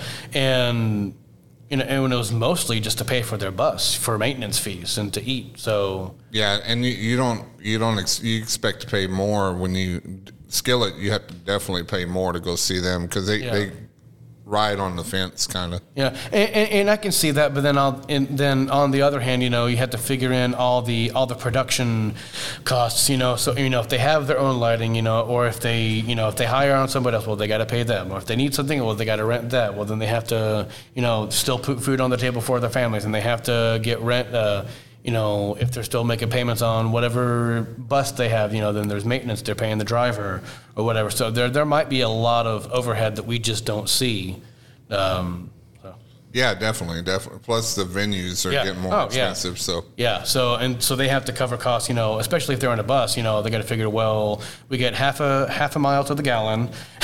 and you know, and it was mostly just to pay for their bus, for maintenance fees, and to eat. So yeah, and you, you don't you don't ex- you expect to pay more when you Skillet. You have to definitely pay more to go see them because they, Yeah. they ride on the fence, kind of. yeah, and, and, and I can see that. But then, I'll, and then on the other hand, you know, you have to figure in all the all the production costs. You know, so you know if they have their own lighting, you know, or if they you know if they hire on somebody else, well, they got to pay them. Or if they need something, well, they got to rent that. Well, then they have to you know still put food on the table for their families, and they have to get rent. Uh, You know, if they're still making payments on whatever bus they have, you know, then there's maintenance. They're paying the driver or whatever. So there there might be a lot of overhead that we just don't see. Um, so. Yeah, definitely, definitely. Plus the venues are Yeah. getting more Oh, expensive. yeah. So Yeah. So and so they have to cover costs. You know, especially if they're on a bus. You know, they got to figure. Well, we get half a half a mile to the gallon.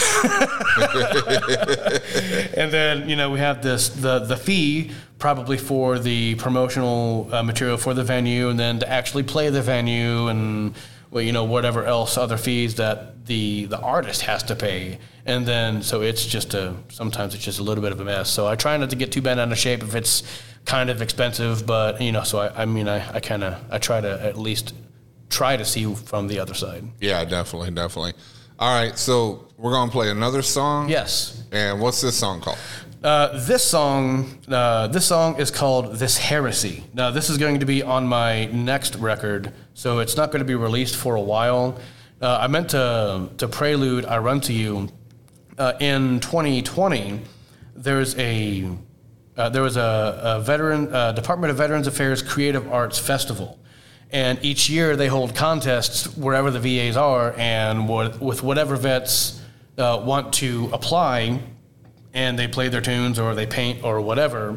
And then you know we have this the the fee probably for the promotional uh, material for the venue, and then to actually play the venue, and well, you know whatever else other fees that the the artist has to pay, and then so it's just a sometimes it's just a little bit of a mess. So I try not to get too bent out of shape if it's kind of expensive, but you know so I, I mean I, I kind of I try to at least try to see from the other side. yeah, definitely, definitely. All right, so we're gonna play another song. Yes. And what's this song called? Uh, this song, uh, this song is called "This Heresy." Now, this is going to be on my next record, so it's not going to be released for a while. Uh, I meant to to prelude "I Run to You." Uh, in twenty twenty, there's a uh, there was a, a veteran uh, Department of Veterans Affairs Creative Arts Festival. And each year they hold contests wherever the V As are, and with whatever vets uh, want to apply, and they play their tunes or they paint or whatever.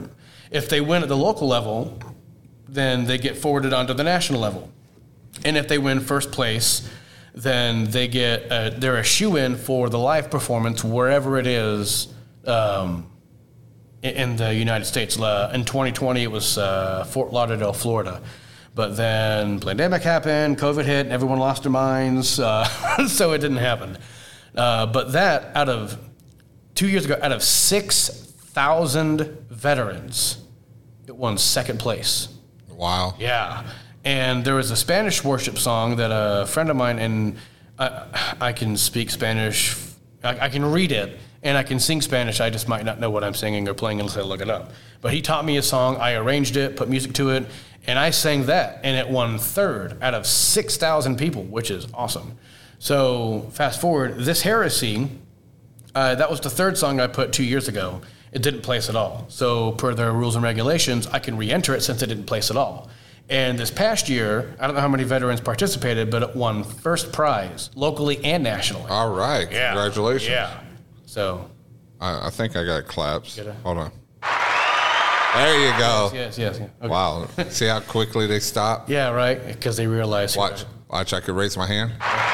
If they win at the local level, then they get forwarded onto the national level. And if they win first place, then they get a, they're a shoe-in for the live performance wherever it is um, in, in the United States. Uh, in twenty twenty, it was uh, Fort Lauderdale, Florida. But then pandemic happened, COVID hit, and everyone lost their minds, uh, so it didn't happen. Uh, but that, out of two years ago, out of six thousand veterans, it won second place. Wow. Yeah. And there was a Spanish worship song that a friend of mine, and I, I can speak Spanish, I, I can read it, and I can sing Spanish. I just might not know what I'm singing or playing unless I look it up. But he taught me a song, I arranged it, put music to it, and I sang that, and it won third out of six thousand people, which is awesome. So fast forward, This Heresy, uh, that was the third song I put two years ago. It didn't place at all. So per their rules and regulations, I can re-enter it since it didn't place at all. And this past year, I don't know how many veterans participated, but it won first prize, locally and nationally. All right. Yeah. Congratulations. Yeah. So. I, I think I got claps. Get it? Hold on. There you go. Yes, yes, yes. Okay. Wow. See how quickly they stop? Yeah, right? Because they realize. Watch. Watch, I could raise my hand.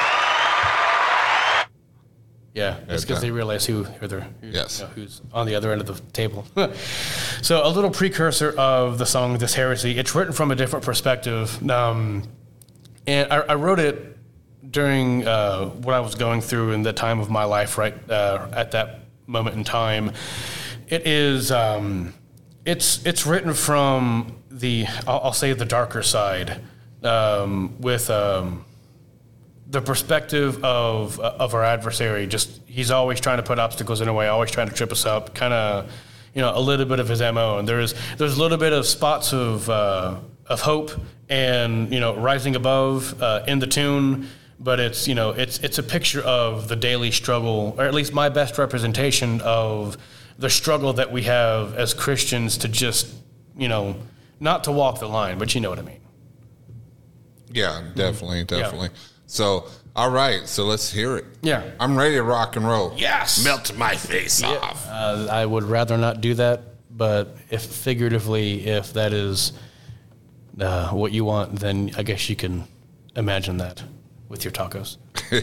Yeah, it's because they realize who, who they're, who, yes. you know, who's on the other end of the table. So a little precursor of the song This Heresy. It's written from a different perspective. Um, and I, I wrote it during uh, what I was going through in the time of my life, right uh, at that moment in time. It is, um, it's it's written from the, I'll, I'll say the darker side, um, with... Um, the perspective of of our adversary. Just he's always trying to put obstacles in our way, always trying to trip us up. Kind of, you know, a little bit of his M O. And there's there's a little bit of spots of uh, of hope and you know rising above uh, in the tune. But it's you know it's it's a picture of the daily struggle, or at least my best representation of the struggle that we have as Christians to just you know not to walk the line, but you know what I mean. Yeah, definitely, definitely. Yeah. So, all right, so let's hear it. Yeah. I'm ready to rock and roll. Yes. Melt my face yeah. off. Uh, I would rather not do that, but if figuratively, if that is uh, what you want, then I guess you can imagine that with your tacos.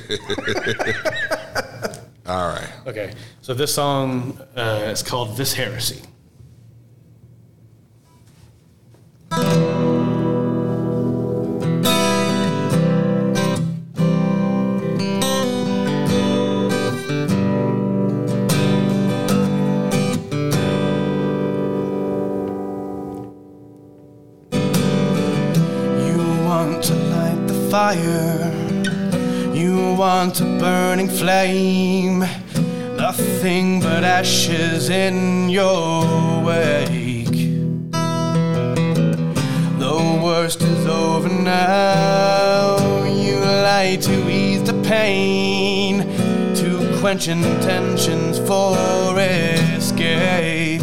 All right. Okay, so this song uh, is called This Heresy. Fire, you want a burning flame, nothing but ashes in your wake. The worst is over now, you lie to ease the pain, to quench intentions for escape.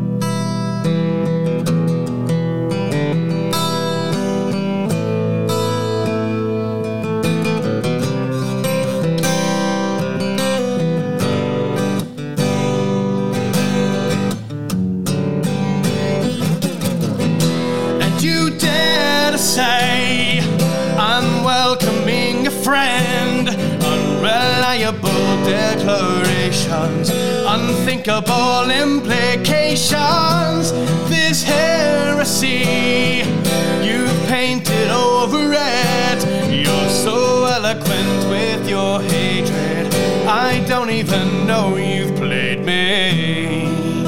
Say I'm welcoming a friend, unreliable declarations, unthinkable implications. This heresy, you've painted over it. You're so eloquent with your hatred, I don't even know you've played me.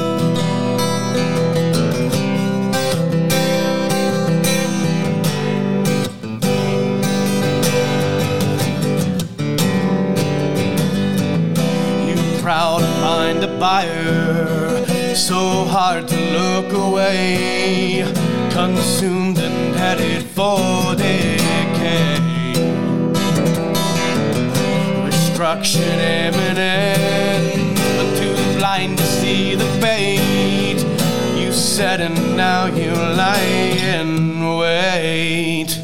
Proud to find a buyer, so hard to look away, consumed and headed for decay. Destruction imminent, but too blind to see the bait. You said and now you lie in wait.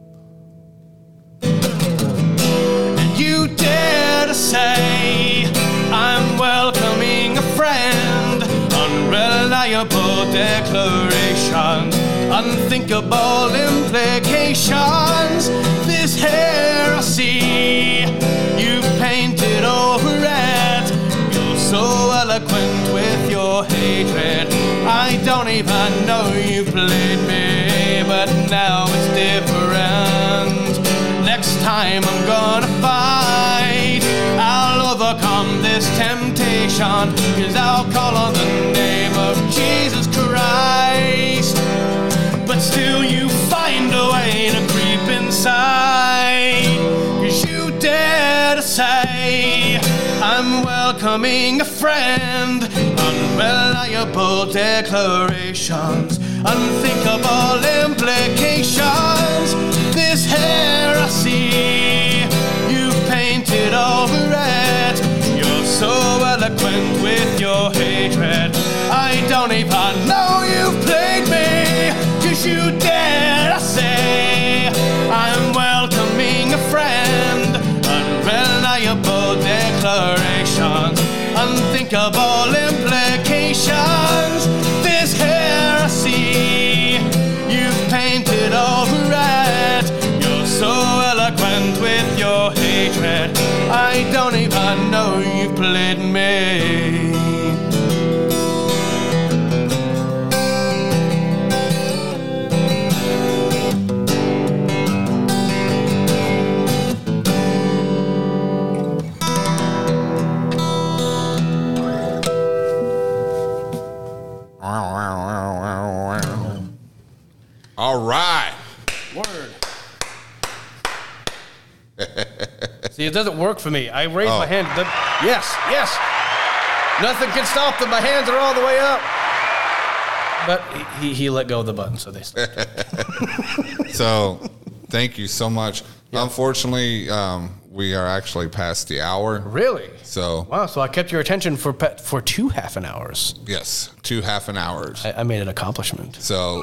And you dare to say I'm welcoming a friend, unreliable unreliable declarations, unthinkable implications. This heresy, you've painted over it. You're so eloquent with your hatred. I don't even know you played me, but now it's different. Next time I'm gonna fight, I'll overcome this temptation, 'cause I'll call on the name of Jesus Christ. But still you find a way to creep inside, 'cause you dare to say I'm welcoming a friend. Unreliable declarations, unthinkable implications. This heresy, you've painted over it. You're so eloquent with your hatred. I don't even know you've played me, 'cause you dare to say I'm welcoming a friend. Unreliable declarations, unthinkable implications. This heresy, you've painted over it. You're so eloquent with your hatred. I don't even know you've played me. All right. Word. See, it doesn't work for me. I raise Oh. my hand. The, yes, yes. Nothing can stop them. My hands are all the way up. But he, he let go of the button, so they stopped. So, thank you so much. Unfortunately, um, we are actually past the hour. Really? So, Wow, so I kept your attention for pe- for two half an hours. yes, two half an hours. I, I made an accomplishment. So,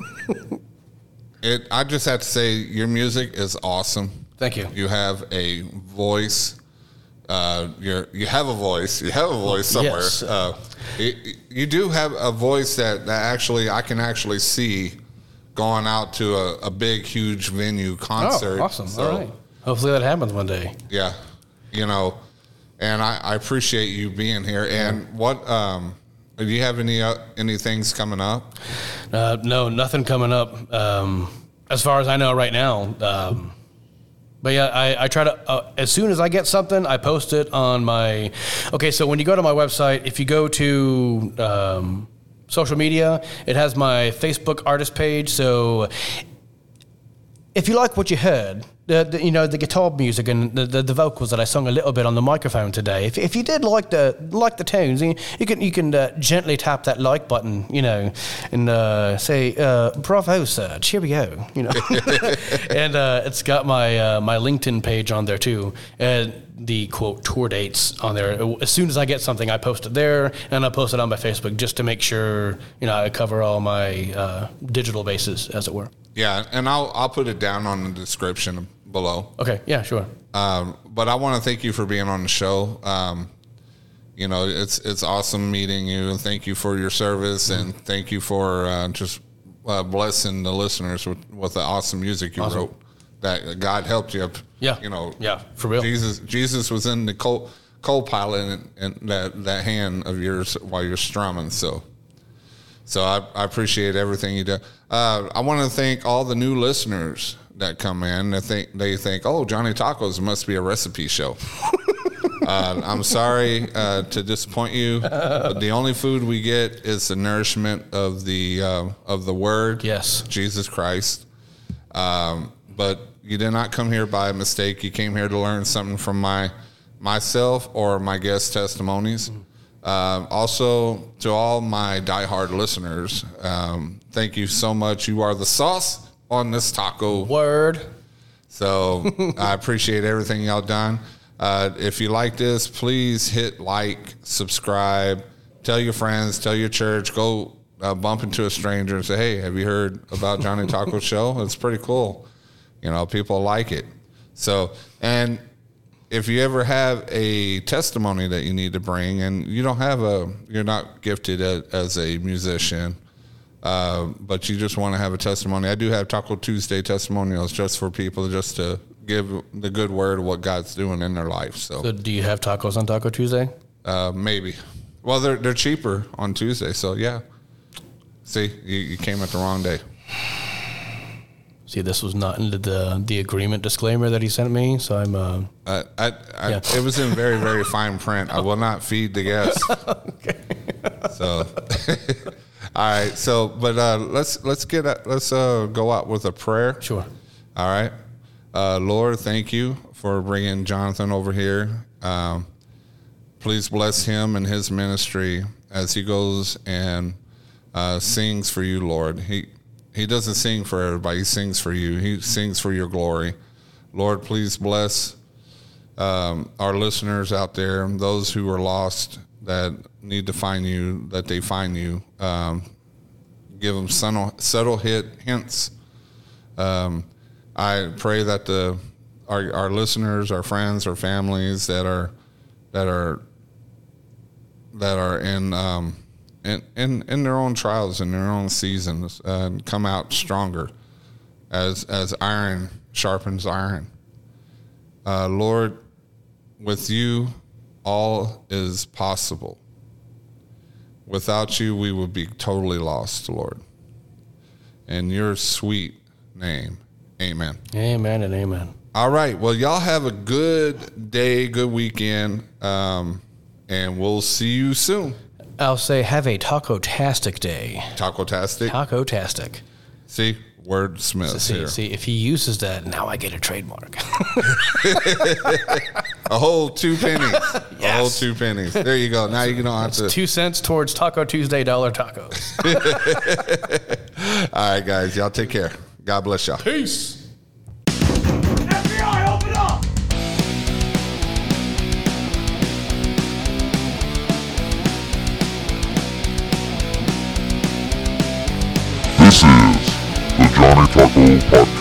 it. I just have to say, your music is awesome. Thank you. You have a voice. Uh, you're you have a voice. You have a voice somewhere. Yes. Uh, it, you do have a voice that, that actually I can actually see going out to a, a big, huge venue concert. Oh, awesome. So, All right. Hopefully that happens one day. yeah, you know, and I, I appreciate you being here. And what um, do you have any uh, any things coming up? Uh, no, nothing coming up um, as far as I know right now. Um, but yeah, I, I try to, uh, as soon as I get something, I post it on my, okay, so when you go to my website, if you go to um, social media, it has my Facebook artist page. So if you like what you heard, the, the you know the guitar music and the, the, the vocals that I sung a little bit on the microphone today. If, if you did like the like the tunes, you, you can you can uh, gently tap that like button, you know, and uh, say uh, "Bravo, sir, cheerio," you know. And uh, it's got my uh, my LinkedIn page on there too, and the quote tour dates on there. As soon as I get something, I post it there, and I post it on my Facebook just to make sure you know I cover all my uh, digital bases, as it were. Yeah, and I'll I'll put it down on the description below. Okay, yeah, sure. Um, but I want to thank you for being on the show. Um, you know, it's it's awesome meeting you, and thank you for your service, mm-hmm. and thank you for uh, just uh, blessing the listeners with, with the awesome music you Awesome. wrote. That God helped you. Yeah, you know. Yeah, for real. Jesus Jesus was in the co co-pilot and, and that that hand of yours while you're strumming. So. So I, I appreciate everything you do. Uh, I want to thank all the new listeners that come in. They think they think, oh, Johnny Tacos must be a recipe show. uh, I'm sorry uh, to disappoint you, but the only food we get is the nourishment of the uh, of the Word, Yes. Jesus Christ. Um, but you did not come here by mistake. You came here to learn something from my myself or my guest testimonies. Mm. Uh, also, to all my diehard listeners, um, thank you so much. You are the sauce on this taco. Word. So I appreciate everything y'all done. Uh, if you like this, please hit like, subscribe, tell your friends, tell your church, go uh, bump into a stranger and say, hey, have you heard about Johnny Taco Show? It's pretty cool. You know, people like it. So, and if you ever have a testimony that you need to bring, and you don't have a, you're not gifted as, as a musician, uh, but you just want to have a testimony. I do have Taco Tuesday testimonials just for people just to give the good word of what God's doing in their life. So, So do you have tacos on Taco Tuesday? uh, maybe. Well, they're they're cheaper on Tuesday, so yeah. See, you, you came at the wrong day. See, this was not into the the agreement disclaimer that he sent me, so I'm. Uh, Uh, I, I, Yeah. It was in very, very fine print. I will not feed the guests. okay. So, all right. So, but uh, let's let's get a, let's uh, go out with a prayer. Sure. All right. Uh, Lord, thank you for bringing Jonathan over here. Um, please bless him and his ministry as he goes and uh, sings for you, Lord. He he doesn't sing for everybody. He sings for you. He sings for your glory. Lord, please bless um, our listeners out there, those who are lost that need to find you, that they find you. Um, give them subtle, subtle hit hints. Um, I pray that the our, our listeners, our friends, our families that are that are that are in um, in, in in their own trials, in their own seasons, uh, come out stronger as as iron sharpens iron. Uh, Lord, with you, all is possible. Without you, we would be totally lost, Lord. In your sweet name, amen. Amen and amen. All right. Well, y'all have a good day, good weekend, um, and we'll see you soon. I'll say have a taco-tastic day. Taco-tastic. Taco-tastic. See, wordsmiths See, here. see, if he uses that, now I get a trademark. A whole two pennies. A Yes. whole two pennies. There you go. Now you don't have to. Two cents towards Taco Tuesday dollar tacos. All right, guys. Y'all take care. God bless y'all. Peace. F B I, open up! This is the Johnny Taco Podcast.